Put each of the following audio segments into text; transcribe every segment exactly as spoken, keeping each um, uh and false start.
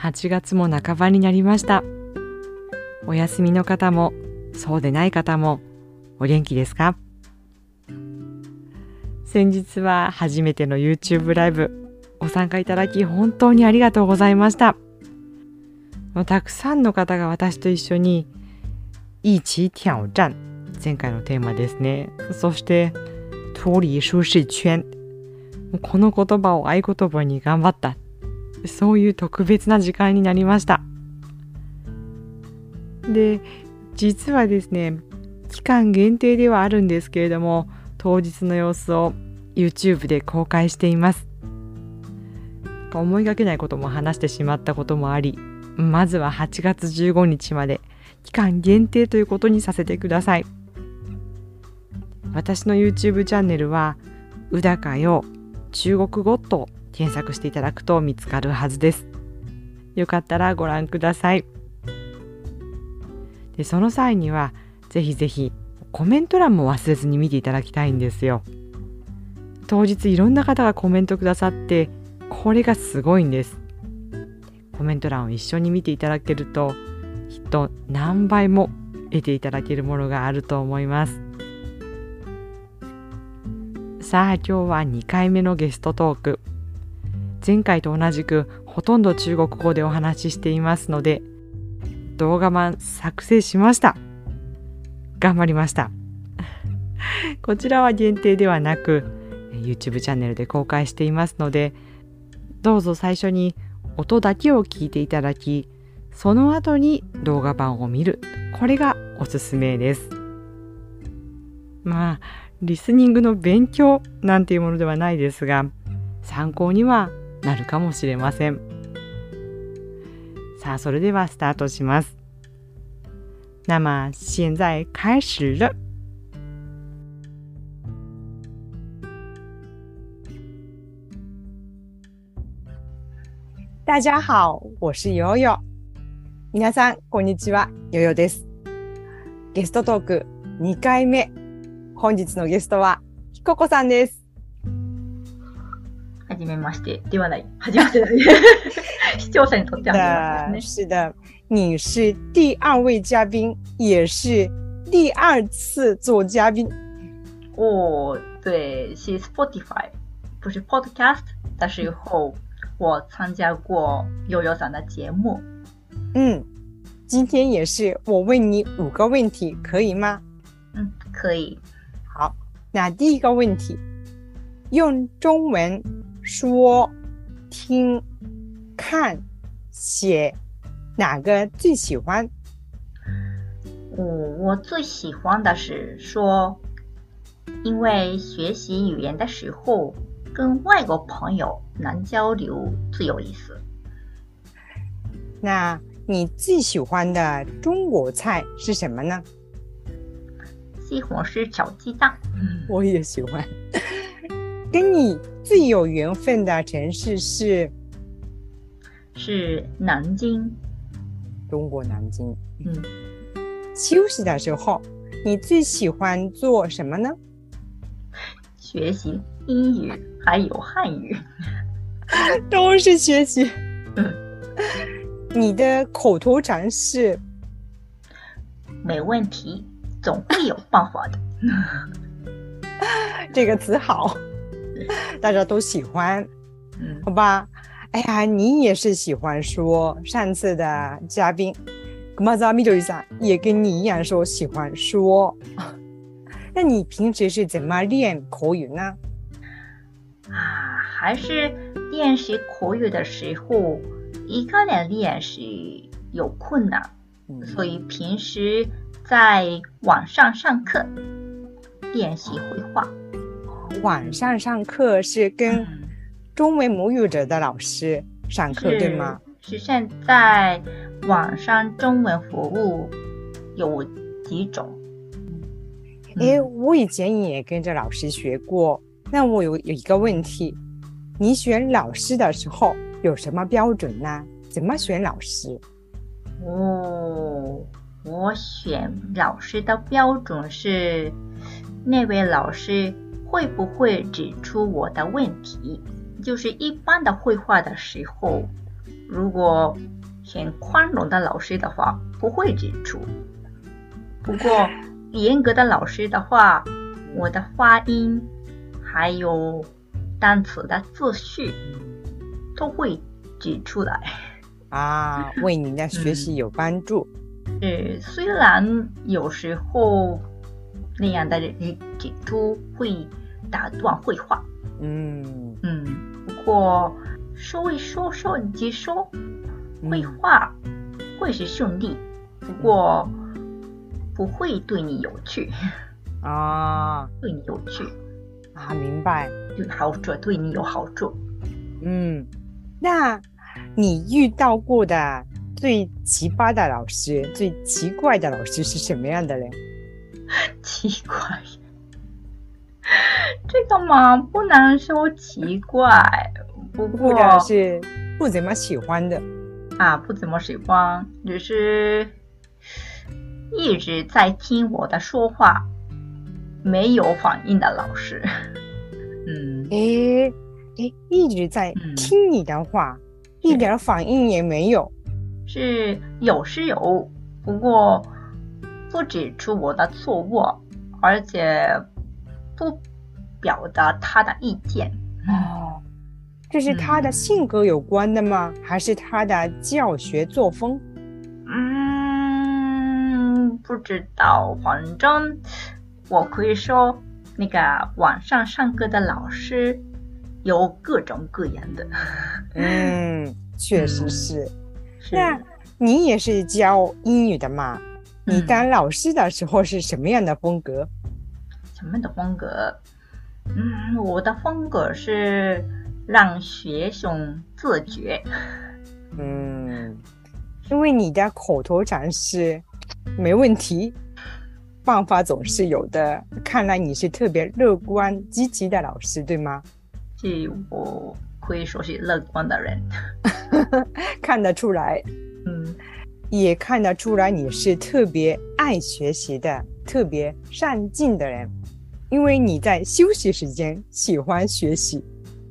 はちがつも半ばになりました。お休みの方もそうでない方もお元気ですか？先日は初めての YouTube ライブご参加いただき本当にありがとうございました。たくさんの方が私と一緒に一起挑戰、前回のテーマですね。そして脱離舒適圈、この言葉を合言葉に頑張った、そういう特別な時間になりました。で、実はですね、期間限定ではあるんですけれども、当日の様子を YouTube で公開しています。思いがけないことも話してしまったこともあり、まずははちがつじゅうごにちまで期間限定ということにさせてください。私の YouTube チャンネルは宇高よ中国語と検索していただくと見つかるはずです。よかったらご覧ください。で、その際にはぜひぜひコメント欄も忘れずに見ていただきたいんですよ。当日いろんな方がコメントくださって、これがすごいんです。コメント欄を一緒に見ていただけると、きっと何倍も得ていただけるものがあると思います。さあ、今日はにかいめのゲストトーク。前回と同じくほとんど中国語でお話ししていますので、動画版作成しました。頑張りました。こちらは限定ではなく YouTube チャンネルで公開していますので、どうぞ最初に音だけを聞いていただき、その後に動画版を見る、これがおすすめです。まあリスニングの勉強なんていうものではないですが、参考にはなるかもしれません。さあ、それではスタートします。那么现在开始了。 大家好，我是ヨヨ。皆さんこんにちは、ヨヨです。ゲストトークにかいめ。本日のゲストはひここさんです。 はじめましてではない。はじめまして視聴者にとってはね。是的，你是第二位嘉宾，也是第二次做嘉宾。 哦，对，是 Spotify， 不是 Podcast 的时候，我参加过悠悠さん的节目。 嗯，今天也是我问你五个问题，可以吗？ 嗯，可以。 好，那第一个问题，用中文说、听、看、写，哪个最喜欢？ 哦，我最喜欢的是说，因为学习语言的时候，跟外国朋友能交流最有意思。 那你最喜欢的中国菜是什么呢？ 西红柿炒鸡蛋。 我也喜欢。跟你最有缘分的城市是？ 是南京。 中国南京。 嗯。 休息的时候，你最喜欢做什么呢？ 学习英语还有汉语。 都是学习。 嗯。 你的口头禅是？ 没问题，总会有办法的。 这个词好，大家都喜欢。 嗯， 好吧。哎呀，你也是喜欢说。上次的嘉宾熊澤みどりさん也跟你一样说喜欢说。那你平时是怎么练口语呢？ 啊，还是练习口语的时候，一个人练是有困难，嗯、所以平时在网上上课练习绘画。 网上上课是跟中文母语者的老师上课，对吗？ 是现在网上中文服务有几种。 诶，我以前也跟着老师学过。那我有有一个问题，你选老师的时候有什么标准呢？怎么选老师？ 哦，我选老师的标准是那位老师会不会指出我的问题，就是一般的绘画的时候如果很宽容的老师的话，不会指出。不过严格的老师的话，我的发音还有单词的字序都会指出来啊，为你的学习有帮助。 是，虽然有时候那样的指出会打断绘画， 嗯嗯，不过说一说说即说，绘画会是顺利，不过不会对你有趣啊， 对你有趣啊，明白， 有好处，对你有好处。 嗯，那你遇到过的最奇葩的老师、最奇怪的老师是什么样的嘞？ 奇怪，这个嘛，不能说奇怪，不过或者是不怎么喜欢的啊，不怎么喜欢，只是一直在听我的说话，没有反应的老师。嗯， 诶诶，一直在听你的话，嗯、一点反应也没有。 是有是有，不过不指出我的错误，而且不表达他的意见。 哦，这是他的性格有关的吗？嗯、还是他的教学作风？ 嗯，不知道，反正我可以说，那个网上上课的老师有各种各样的。 嗯，确实是。嗯是那你也是教英语的嘛？ 嗯、 你当老师的时候是什么样的风格？ 什么样的风格？嗯，我的风格是让学生自觉。 嗯，因为你的口头禅是没问题，办法总是有的。看来你是特别乐观积极的老师，对吗？ 是，我可以说是乐观的人。 看得出来， 嗯， 也看得出来你是特别爱学习的，特别上进的人，因为你在休息时间喜欢学习。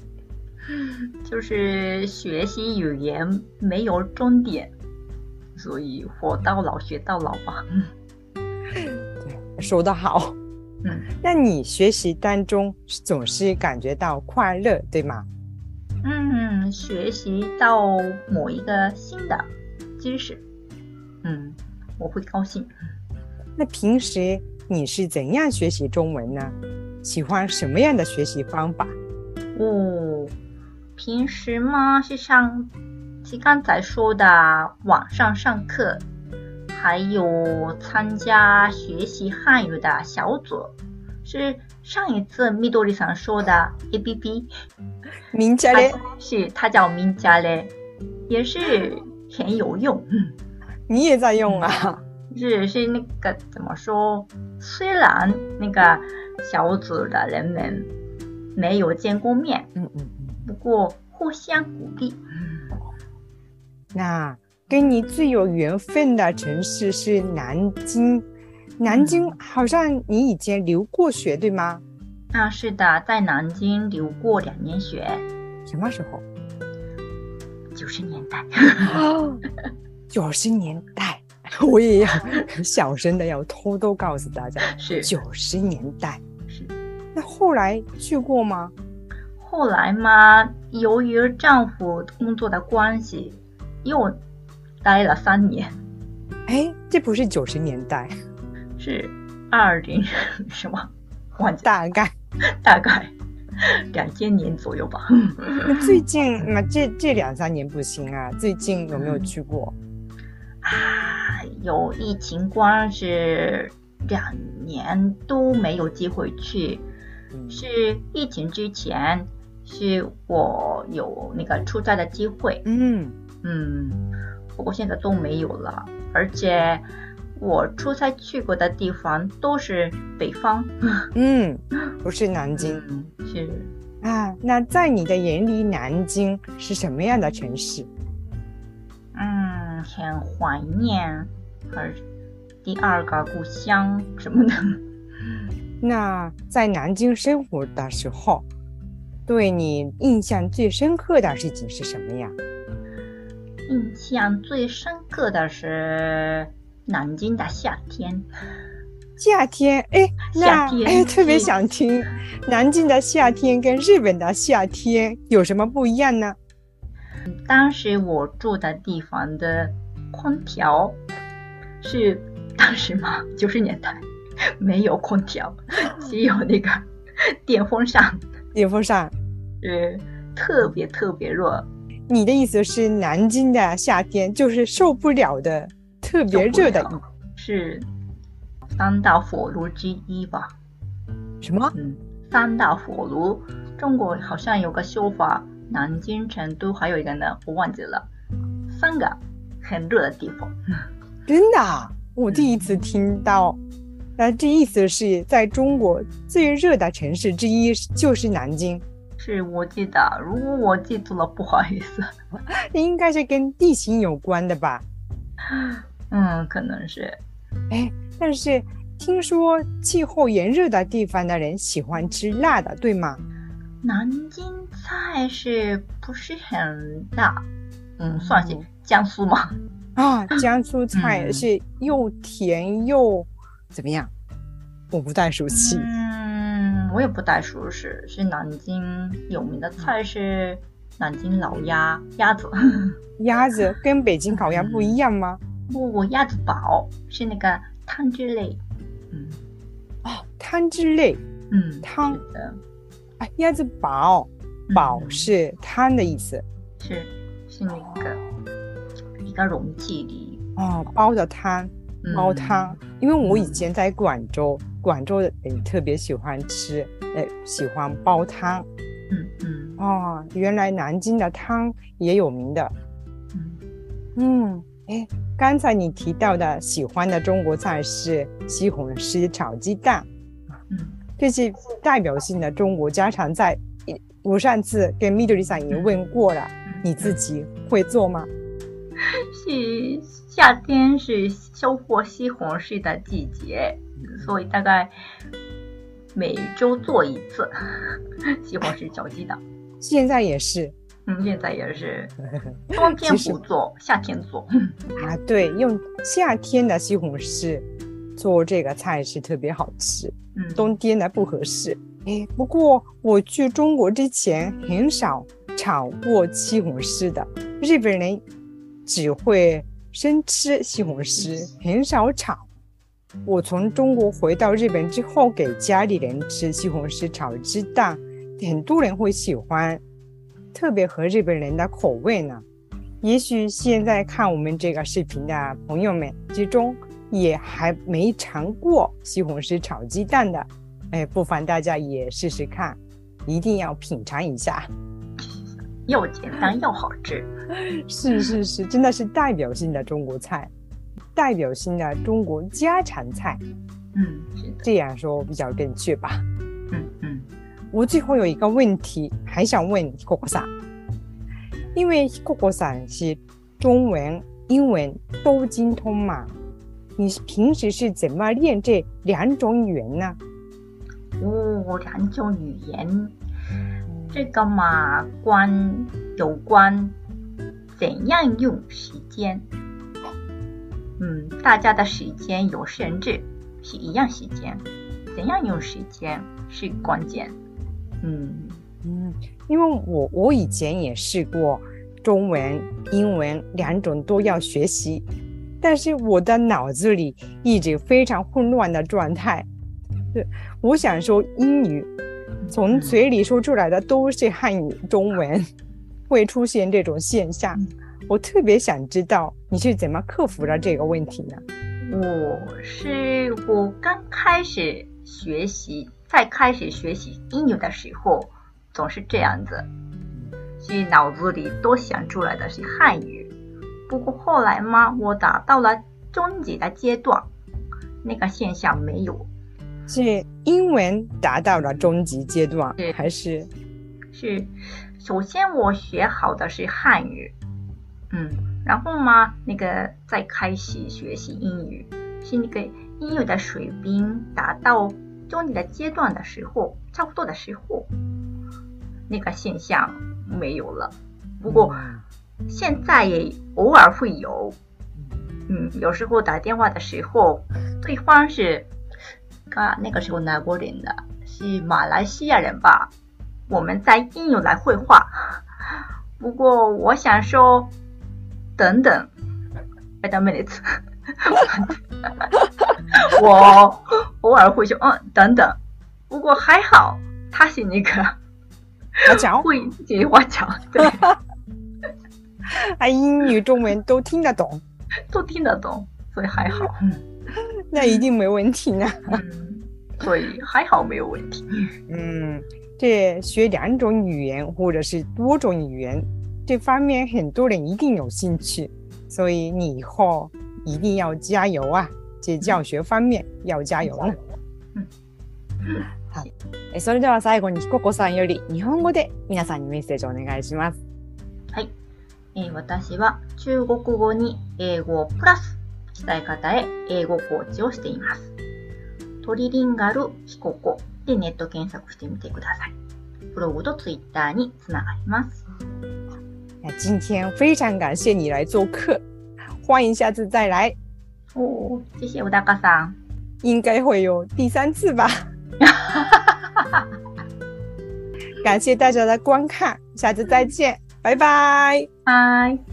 就是学习语言没有终点，所以活到老学到老吧。 对，说得好。 嗯， 那你学习当中总是感觉到快乐，对吗？ 嗯，学习到某一个新的知识，嗯，我会高兴。 那平时你是怎样学习中文呢？喜欢什么样的学习方法？ 哦，平时嘛是上，是刚才说的网上上课，还有参加学习汉语的小组，是上一次蜜多里桑说的 A P P。 名家嘞， 是它叫名家嘞，也是很有用。 你也在用啊？ 是是那个怎么说？虽然那个小组的人们没有见过面， 嗯嗯嗯， 不过互相鼓励。 那跟你最有缘分的城市是南京，南京好像你以前留过学，对吗？ 啊，是的，在南京留过两年学。 什么时候？ 九十年代。 哦，九十年代，我也要小声的要偷偷告诉大家， 是九十年代。 是。 那后来去过吗？ 后来嘛，由于丈夫工作的关系，又待了三年。 哎，这不是九十年代， 是二零什么？忘记大概大概两千年左右吧。 那最近那这这两三年不行啊，最近有没有去过？ 啊，有疫情关系，两年都没有机会去。嗯、是疫情之前，是我有那个出差的机会。 嗯嗯，不过现在都没有了，而且我出差去过的地方都是北方。 嗯，不是南京。 嗯、是啊，那在你的眼里，南京是什么样的城市？ 嗯，很怀念，而第二个故乡什么的。 那在南京生活的时候，对你印象最深刻的事情是什么呀？ 印象最深刻的是南京的夏天。 夏天，哎，那夏天哎，特别想听南京的夏天跟日本的夏天有什么不一样呢？ 当时我住的地方的空调是当时嘛，九十年代没有空调，只有那个电风扇， 电风扇， 是特别特别热。 你的意思是南京的夏天就是受不了的，特别热的， 是三大火炉之一吧？ 什么？ 嗯，三大火炉，中国好像有个说法，南京、成都还有一个呢，我忘记了，三个很热的地方。 真的啊？我第一次听到。那这意思是在中国最热的城市之一就是南京。 是我记得，如果我记错了，不好意思。 应该是跟地形有关的吧？ 嗯，可能是。 哎，但是听说气候炎热的地方的人喜欢吃辣的，对吗？ 南京菜是不是很辣？嗯，算是江苏嘛。 啊，江苏菜是又甜又怎么样？我不太熟悉。 嗯，我也不太熟悉。是南京有名的菜是南京老鸭，鸭子。 鸭子跟北京烤鸭不一样吗？ 不，鸭子煲是那个汤汁类。嗯， 哦，汤汁类。 嗯， 汤是的。 啊，鸭子煲，煲是汤的意思。 嗯、是是那个一个容器里哦，煲的汤，煲汤。嗯、因为我以前在广州，嗯、广州的人特别喜欢吃，呃，喜欢煲汤。 嗯嗯。 哦，原来南京的汤也有名的。 嗯嗯，哎，刚才你提到的喜欢的中国菜是西红柿炒鸡蛋。 嗯。 这是代表性的中国家常菜，我上次跟Midoriさん也问过了，嗯、你自己会做吗？ 是夏天是收获西红柿的季节，所以大概每周做一次西红柿炒鸡蛋。 现在也是， 嗯，现在也是，冬天不做，夏天做。 啊，对，用夏天的西红柿做这个菜是特别好吃。 嗯， 冬天呢不合适。哎，不过我去中国之前很少炒过西红柿的，日本人只会生吃西红柿，很少炒。我从中国回到日本之后，给家里人吃西红柿炒鸡蛋，很多人会喜欢，特别合日本人的口味呢。也许现在看我们这个视频的朋友们之中，也还没尝过西红柿炒鸡蛋的，哎，不妨大家也试试看，一定要品尝一下。 又简单又好吃。 是是是，真的是代表性的中国菜，代表性的中国家常菜。 嗯，是的， 这样说比较正确吧。 嗯嗯。 我最后有一个问题还想问Hikokoさん，因为Hikokoさん是中文、英文都精通嘛，你平时是怎么练这两种语言呢？ 哦，两种语言，这个嘛，关有关怎样用时间。嗯，大家的时间有限制，是一样时间，怎样用时间是关键。嗯嗯，因为我我以前也试过中文、英文两种都要学习，但是我的脑子里一直非常混乱的状态。对，我想说英语，从嘴里说出来的都是汉语、中文，会出现这种现象。我特别想知道你是怎么克服了这个问题呢？ 我是我刚开始学习，在开始学习英语的时候，总是这样子，是脑子里都想出来的是汉语。不过后来嘛，我达到了中级的阶段，那个现象没有。 是英文达到了中级阶段，还是？ 是，首先我学好的是汉语，嗯，然后嘛，那个再开始学习英语，是那个英语的水平达到中级的阶段的时候，差不多的时候，那个现象没有了。不过， 现在也偶尔会有，嗯，有时候打电话的时候，对方是，啊，那个时候哪国人的？是马来西亚人吧？我们在应用来绘画。不过我想说，等等 ，wait a minute， 我偶尔会说，嗯，等等。不过还好，他是那个花脚， 会自己花脚，对， 他英语、中文都听得懂， 都听得懂，所以还好。 那一定没问题呢。 嗯，所以还好没有问题。 嗯。这学两种语言或者是多种语言，这方面很多人一定有兴趣，所以你以后一定要加油啊！这教学方面要加油呢。 嗯、 はい。それでは最後にひここさんより日本語で皆さんにメッセージをお願いします。 はい。えー、私は中国語に英語プラス伝え方へ英語コーチをしています。トリリンガルひここでネット検索してみてください。ブログとツイッターにつながります。 今天非常感谢你来做客，欢迎下次再来。 哦，谢谢小高さん。 应该会有第三次吧。感谢大家的观看，下次再见，拜拜。 拜。